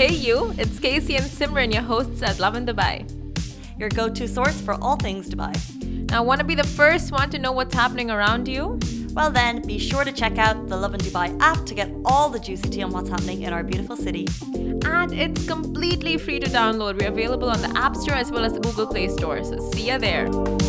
Hey you, it's Casey and Simran, your hosts at Love in Dubai. Your go-to source for all things Dubai. Now, want to be the first one to know what's happening around you? Well then, be sure to check out the Love in Dubai app to get all the juicy tea on what's happening in our beautiful city. And it's completely free to download. We're available on the App Store as well as the Google Play Store. So see ya there.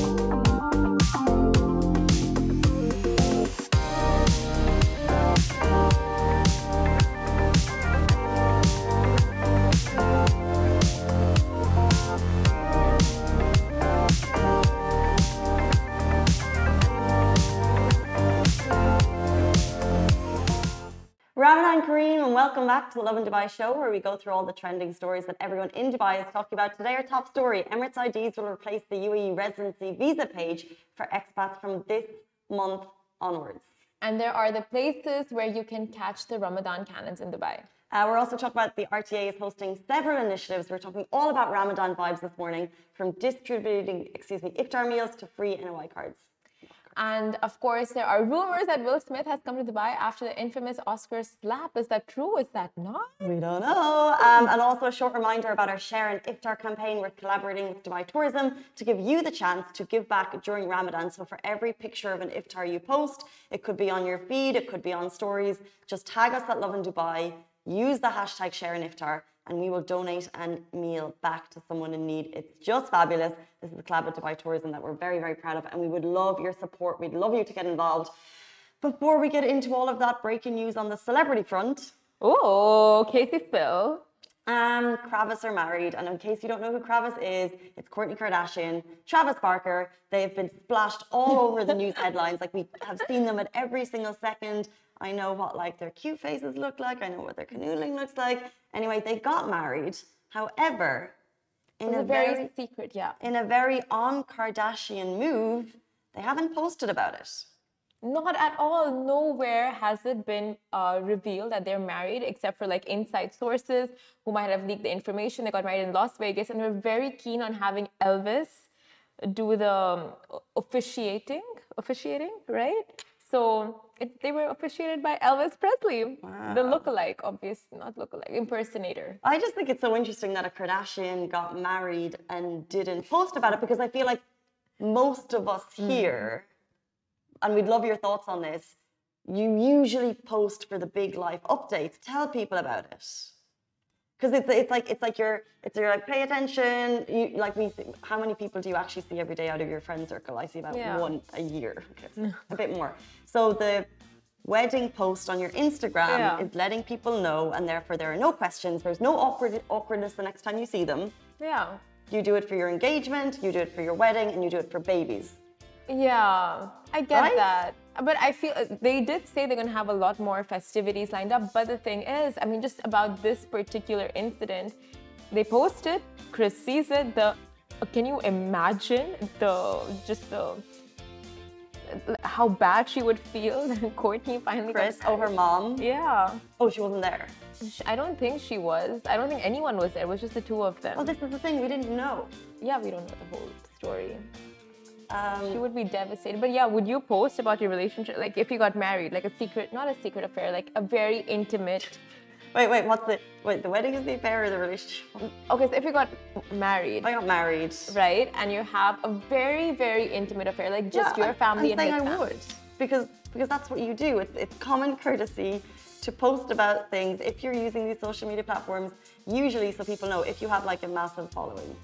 Ramadan Kareem, and welcome back to the Love in Dubai show, where we go through all the trending stories that everyone in Dubai is talking about. Today, our top story: Emirates IDs will replace the UAE residency visa page for expats from this month onwards. And there are the places where you can catch the Ramadan cannons in Dubai. We're also talking about the RTA is hosting several initiatives. We're talking all about Ramadan vibes this morning, from distributing, iftar meals to free NOI cards. And of course, there are rumors that Will Smith has come to Dubai after the infamous Oscar slap. Is that true? Is that not? We don't know. And also a short reminder about our Share an Iftar campaign. We're collaborating with Dubai Tourism to give you the chance to give back during Ramadan. So for every picture of an iftar you post, it could be on your feed, it could be on stories, just tag us at Love in Dubai, use the hashtag Share an Iftar, and we will donate a meal back to someone in need. It's just fabulous. This is a collab with Dubai Tourism that we're very, very proud of, and we would love your support. We'd love you to get involved. Before we get into all of that breaking news on the celebrity front. Oh, Casey Spill. Kravis are married, and in case you don't know who Kravis is, it's Kourtney Kardashian, Travis Barker. They have been splashed all over the news headlines. Like, we have seen them at every single second. I know what their cute faces look like. I know what their canoodling looks like. Anyway, they got married. However, in a very secret, yeah. In a very on-Kardashian move, they haven't posted about it. Not at all. Nowhere has it been revealed that they're married, except for inside sources who might have leaked the information. They got married in Las Vegas, and they're very keen on having Elvis do the officiating, right? So they were officiated by Elvis Presley, Wow. The lookalike, obviously, not lookalike, impersonator. I just think it's so interesting that a Kardashian got married and didn't post about it, because I feel like most of us here, and we'd love your thoughts on this, you usually post for the big life updates. Tell people about it. Because it's like you're pay attention. How many people do you actually see every day out of your friend circle? I see about one a year, a bit more. So the wedding post on your Instagram is letting people know, and therefore there are no questions. There's no awkwardness the next time you see them. Yeah. You do it for your engagement, you do it for your wedding, and you do it for babies. Yeah, I get Right? that. But I feel they did say they're going to have a lot more festivities lined up. But the thing is, I mean, just about this particular incident, they posted, Chris sees it, can you imagine how bad she would feel when Kourtney finally Chris, got her mom. Yeah. Oh, she wasn't there. I don't think she was. I don't think anyone was there. It was just the two of them. Well, this is the thing, we didn't know. Yeah, we don't know the whole story. She would be devastated. But yeah, would you post about your relationship? Like if you got married, like a secret, not a secret affair, like a very intimate. Wait, the wedding is the affair or the relationship? Okay, so if you got married. I got married. Right, and you have a very, very intimate affair, like just your family and his family. I would, because that's what you do. It's common courtesy to post about things if you're using these social media platforms, usually so people know, if you have a massive following.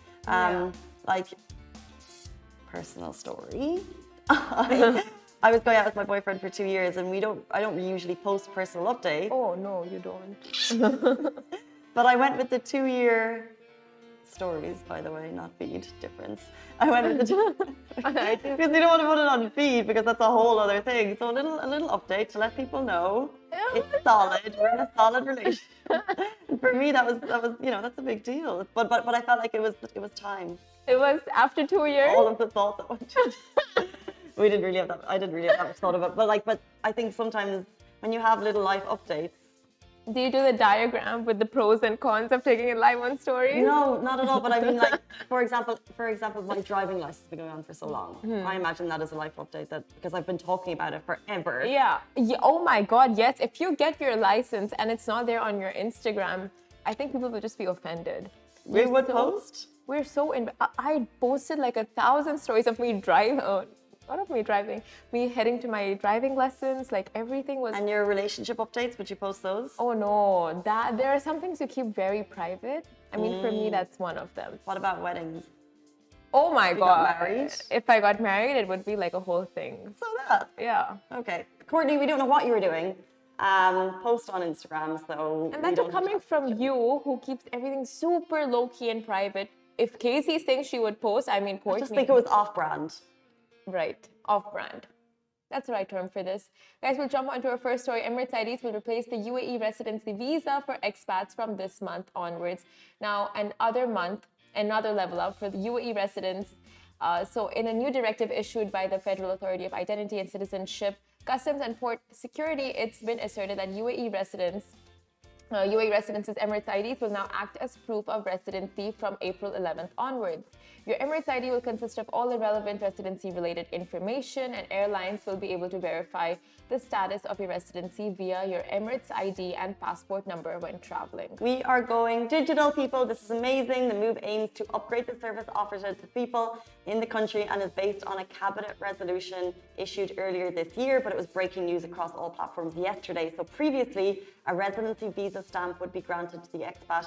Personal story. I was going out with my boyfriend for 2 years, and I don't usually post personal updates. Oh no, you don't. But I went with the 2-year stories, by the way, not feed, difference. I went with the because you don't want to put it on feed, because that's a whole other thing. So a little update to let people know it's solid. We're in a solid relationship. And for me, that was that's a big deal. But I felt like it was time. It was after 2 years. All of the thought that went into it. I didn't really have that much thought of it. But I think sometimes when you have little life updates. Do you do the diagram with the pros and cons of taking it live on stories? No, not at all. But I mean, for example, my driving license has been going on for so long. I imagine that as a life update, because I've been talking about it forever. Yeah. Oh my God, yes. If you get your license and it's not there on your Instagram, I think people will just be offended. We would so, post? We're so in. I posted like 1,000 stories of me driving. Not of me driving. Me heading to my driving lessons. Like everything was. And your relationship updates, would you post those? Oh no, that there are some things you keep very private. I mean, for me, that's one of them. What about weddings? Oh my You god! got married? If I got married, it would be like a whole thing. So that. Yeah. Okay. Courtney, we don't know what you were doing. Post on Instagram, so And we that's don't have to coming ask from questions. you, who keeps everything super low key and private. If Casey thinks she would post, I mean, I just Courtney. think it was off-brand. Right, off brand. That's the right term for this. Guys, we'll jump onto our first story. Emirates IDs will replace the UAE residency visa for expats from this month onwards. Now, another level up for the UAE residents. So, in a new directive issued by the Federal Authority of Identity and Citizenship, Customs and Port Security, it's been asserted that UAE residents' Emirates IDs will now act as proof of residency from April 11th onwards. Your Emirates ID will consist of all the relevant residency-related information, and airlines will be able to verify the status of your residency via your Emirates ID and passport number when traveling. We are going digital, people. This is amazing. The move aims to upgrade the service offered to people in the country and is based on a cabinet resolution issued earlier this year, but it was breaking news across all platforms yesterday. So previously, a residency visa stamp would be granted to the expat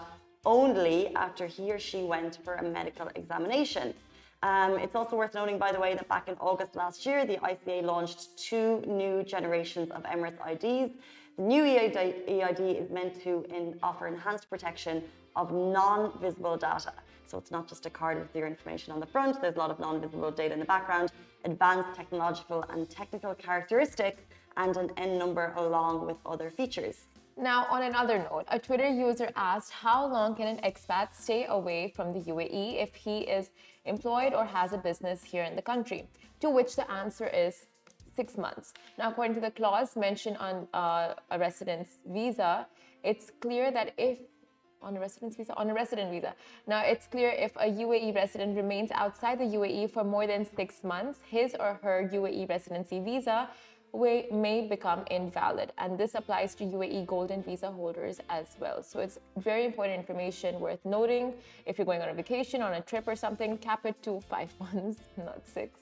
only after he or she went for a medical examination. It's also worth noting, by the way, that back in August last year, the ICA launched 2 new generations of Emirates IDs. The new EID is meant to offer enhanced protection of non-visible data. So it's not just a card with your information on the front, there's a lot of non-visible data in the background, advanced technological and technical characteristics, and an N number along with other features. Now, on another note, a Twitter user asked how long can an expat stay away from the UAE if he is employed or has a business here in the country, to which the answer is 6 months. Now, according to the clause mentioned on a residence visa, it's clear that if on a resident visa. Now, it's clear if a UAE resident remains outside the UAE for more than 6 months, his or her UAE residency visa may become invalid, and this applies to UAE golden visa holders as well. So it's very important information worth noting. If you're going on a vacation, on a trip or something, cap it to 5 months, not 6.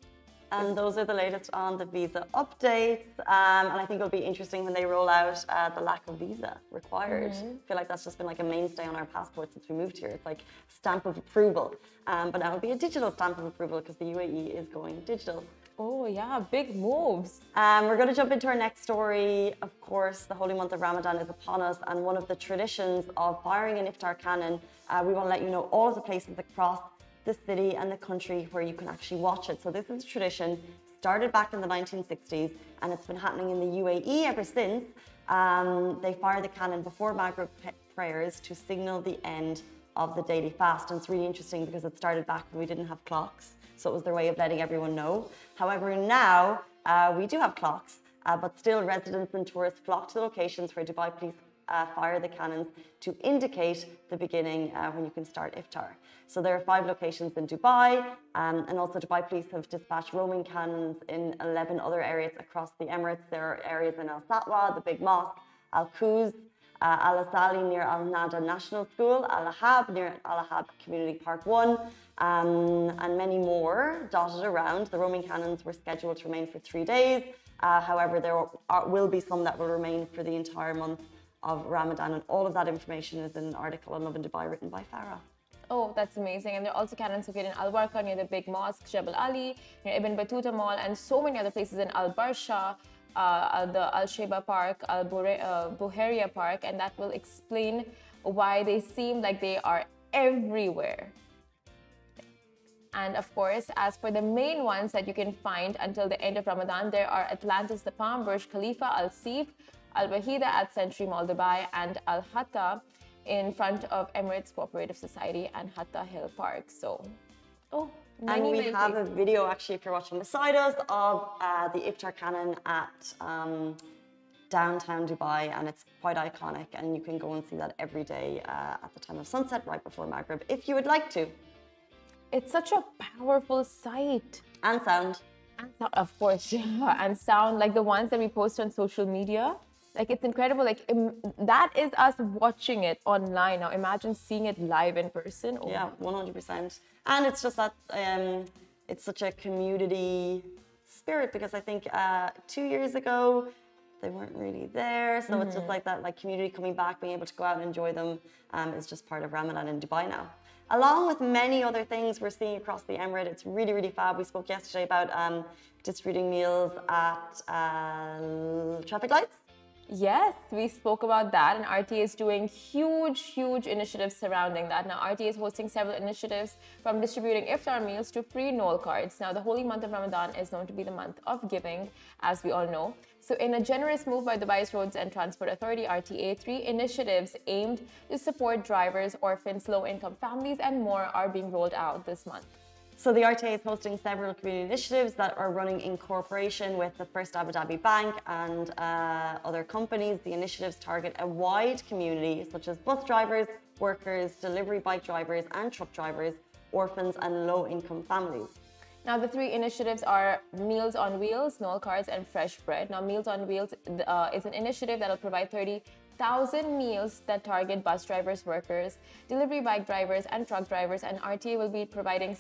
And those are the latest on the visa updates. And I think it'll be interesting when they roll out the lack of visa required. I feel like that's just been like a mainstay on our passports since we moved here. It's like stamp of approval. But now it'll be a digital stamp of approval because the UAE is going digital. Oh yeah, big moves. We're going to jump into our next story. Of course, the holy month of Ramadan is upon us, and one of the traditions of firing an iftar cannon, we want to let you know all of the places across the city and the country where you can actually watch it. So this is a tradition started back in the 1960s, and it's been happening in the UAE ever since. They fire the cannon before Maghrib prayers to signal the end of the daily fast. And it's really interesting because it started back when we didn't have clocks. So it was their way of letting everyone know. However, now we do have clocks, but still residents and tourists flock to the locations where Dubai police fire the cannons to indicate the beginning when you can start iftar. So there are 5 locations in Dubai, and also Dubai police have dispatched roaming cannons in 11 other areas across the Emirates. There are areas in Al Satwa, the big mosque, Al Quoz, Al Asali near Al Nada National School, Al Ahab near Al Ahab Community Park 1, and many more dotted around. The roaming cannons were scheduled to remain for 3 days. However, there will be some that will remain for the entire month of Ramadan, and all of that information is in an article on Lovin Dubai written by Farah. Oh, that's amazing. And there are also cannons located in Al Warqa near the big mosque, Jebel Ali, near Ibn Battuta Mall, and so many other places in Al Barsha, the Al Sheba Park, Al Buhairia Park, and that will explain why they seem like they are everywhere. And of course, as for the main ones that you can find until the end of Ramadan, there are Atlantis The Palm, Burj Khalifa, Al Seef, Al Wahida at Century Mall Dubai, and Al Hatta in front of Emirates Cooperative Society and Hatta Hill Park. So, and we have a video, actually, if you're watching beside us, of the iftar cannon at downtown Dubai, and it's quite iconic, and you can go and see that every day at the time of sunset, right before Maghrib, if you would like to. It's such a powerful sight. And sound. And sound, of course, and sound, like the ones that we post on social media. Like it's incredible. Like that is us watching it online. Now imagine seeing it live in person. Oh Yeah, 100%. And it's just that it's such a community spirit because I think 2 years ago they weren't really there. So it's just like that, like community coming back, being able to go out and enjoy them is just part of Ramadan in Dubai now. Along with many other things we're seeing across the Emirate, it's really, really fab. We spoke yesterday about distributing meals at traffic lights. Yes, we spoke about that, and RTA is doing huge initiatives surrounding that. Now, RTA is hosting several initiatives from distributing iftar meals to free Noel cards. Now, the holy month of Ramadan is known to be the month of giving, as we all know. So, in a generous move by Dubai's Roads and Transport Authority, RTA, 3 initiatives aimed to support drivers, orphans, low-income families, and more are being rolled out this month. So the RTA is hosting several community initiatives that are running in cooperation with the First Abu Dhabi Bank and other companies. The initiatives target a wide community such as bus drivers, workers, delivery bike drivers and truck drivers, orphans and low-income families. Now, the 3 initiatives are Meals on Wheels, Noel Cards, and Fresh Bread. Now, Meals on Wheels is an initiative that will provide 30,000 meals that target bus drivers, workers, delivery bike drivers, and truck drivers. And RTA will be providing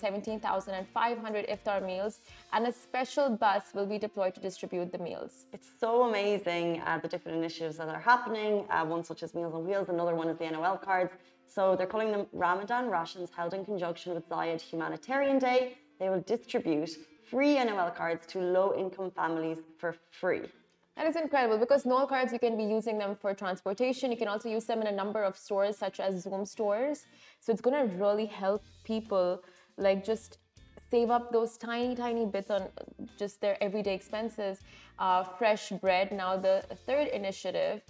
17,500 iftar meals, and a special bus will be deployed to distribute the meals. It's so amazing the different initiatives that are happening. One such as Meals on Wheels, another one is the NOL cards. So they're calling them Ramadan rations held in conjunction with Zayed Humanitarian Day. They will distribute free NOL cards to low-income families for free. That is incredible because Noel cards, you can be using them for transportation. You can also use them in a number of stores such as Zoom stores. So it's going to really help people like just save up those tiny bits on just their everyday expenses. Fresh bread. Now the 3rd initiative,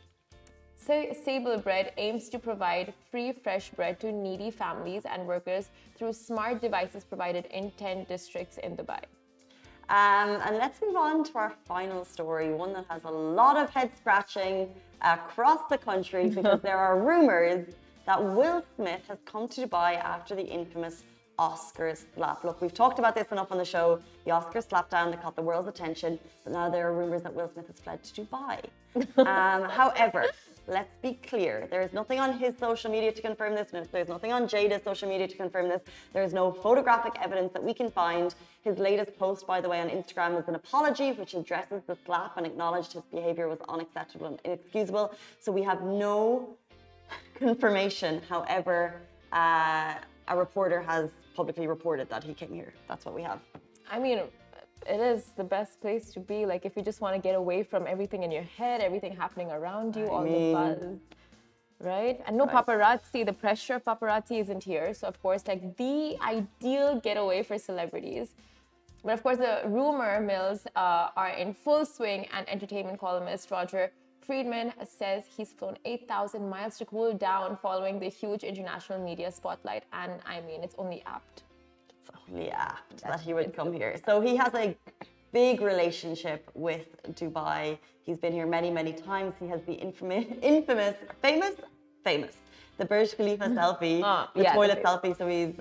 Sable Bread, aims to provide free fresh bread to needy families and workers through smart devices provided in 10 districts in Dubai. And let's move on to our final story, one that has a lot of head scratching across the country because there are rumors that Will Smith has come to Dubai after the infamous Oscars slap. Look, we've talked about this enough on the show. The Oscars slapdown that caught the world's attention, but now there are rumors that Will Smith has fled to Dubai. However, let's be clear. There is nothing on his social media to confirm this. There's nothing on Jada's social media to confirm this. There is no photographic evidence that we can find. His latest post, by the way, on Instagram is an apology which addresses the slap and acknowledged his behavior was unacceptable and inexcusable. So we have no confirmation. However, a reporter has publicly reported that he came here. That's what we have. I mean, it is the best place to be. Like, if you just want to get away from everything in your head, everything happening around you, all the buzz, right? And no paparazzi. The pressure of paparazzi isn't here. So, of course, like the ideal getaway for celebrities. But of course, the rumor mills are in full swing, and entertainment columnist Roger Friedman says he's flown 8,000 miles to cool down following the huge international media spotlight. And I mean, it's only apt. It's only apt that he would come here. So he has a big relationship with Dubai. He's been here many times. He has the famous, the Burj Khalifa selfie, the toilet selfie. So he's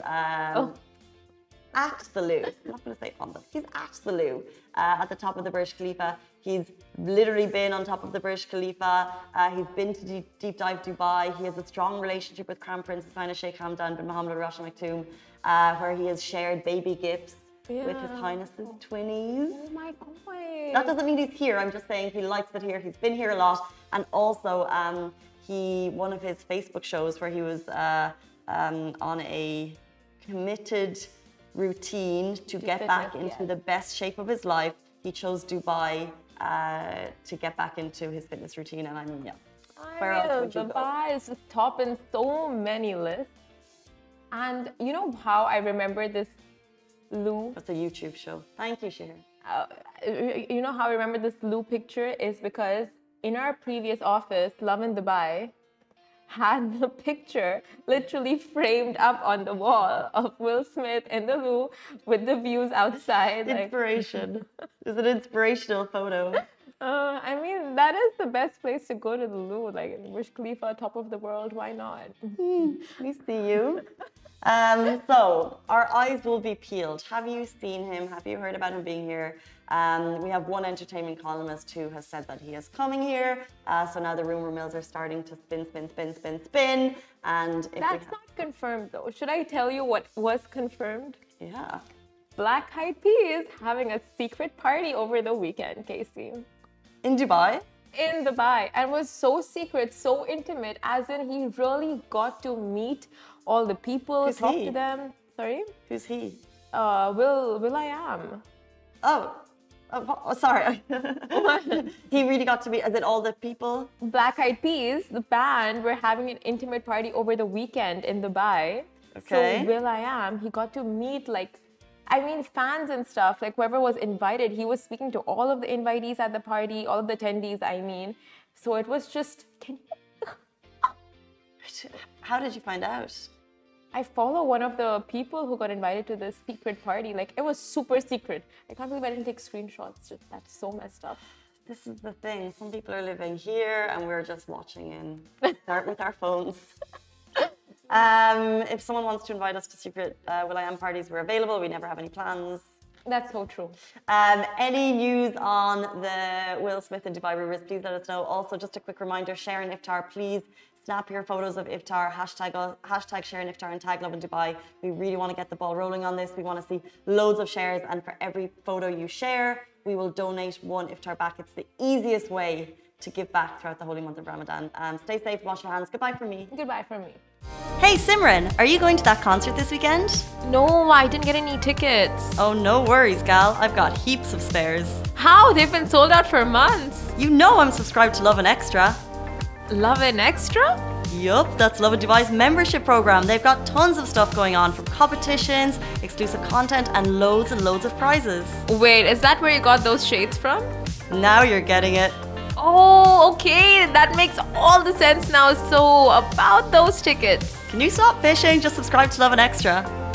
at the loo. I'm not going to say on them. He's at the loo at the top of the Burj Khalifa. He's literally been on top of the Burj Khalifa. He's been to Deep Dive Dubai. He has a strong relationship with Crown Prince Hussain Sheikh Hamdan bin Mohammed Al Rashid Al Maktoum, where he has shared baby gifts with His Highness's twinnies. Oh my God. That doesn't mean he's here. I'm just saying he likes it here. He's been here a lot. And also, one of his Facebook shows where he was on a committed routine to get back into the best shape of his life. He chose Dubai to get back into his fitness routine, and I mean, yeah. Where else would you go? Dubai is just topping so many lists. And you know how I remember this loo? That's a YouTube show. Thank you, Shahir. You know how I remember this loo picture is because in our previous office, Love in Dubai had the picture literally framed up on the wall of Will Smith in the loo with the views outside. Inspiration. It's an inspirational photo. I mean, that is the best place to go to the loo. Like Burj Khalifa, top of the world. Why not? We see you. So our eyes will be peeled. Have you seen him? Have you heard about him being here? We have one entertainment columnist who has said that he is coming here. So now the rumor mills are starting to spin. And if That's not confirmed though. Should I tell you what was confirmed? yeah. Black Eyed Peas having a secret party over the weekend, Casey. In Dubai? In Dubai, and was so secret, so intimate, as in he really got to meet all the people, Who's talk he? to them. Sorry? Who's he? Will I am. Sorry. He really got to meet, is it all the people? Black Eyed Peas, the band, were having an intimate party over the weekend in Dubai. Okay. So Will I am, he got to meet fans and stuff, like whoever was invited. He was speaking to all of the invitees at the party, all of the attendees, I mean. So it was just, How did you find out? I follow one of the people who got invited to this secret party. Like, it was super secret. I can't believe I didn't take screenshots. Just, that's so messed up. This is the thing. Some people are living here and we're just watching in with our phones. If someone wants to invite us to secret will.i.am parties, we're available. We never have any plans. That's so true. Any news on the Will Smith and Dubai rumors, please let us know. Also, just a quick reminder, Sharon Iftar, please snap your photos of Iftar, hashtag Sharon Iftar and tag Lovin Dubai. We really want to get the ball rolling on this. We want to see loads of shares, and for every photo you share, we will donate one Iftar back. It's the easiest way to give back throughout the holy month of Ramadan. Stay safe, wash your hands. Goodbye from me. Goodbye from me. Hey Simran, are you going to that concert this weekend? No, I didn't get any tickets. Oh, no worries, gal. I've got heaps of spares. How? They've been sold out for months. You know I'm subscribed to Lovin Extra. Lovin Extra? Yup, that's Lovin Dubai's membership program. They've got tons of stuff going on, from competitions, exclusive content, and loads of prizes. Wait, is that where you got those shades from? Now you're getting it. Oh, okay. That makes all the sense now. So, about those tickets. Can you stop fishing? Just subscribe to Lovin Extra.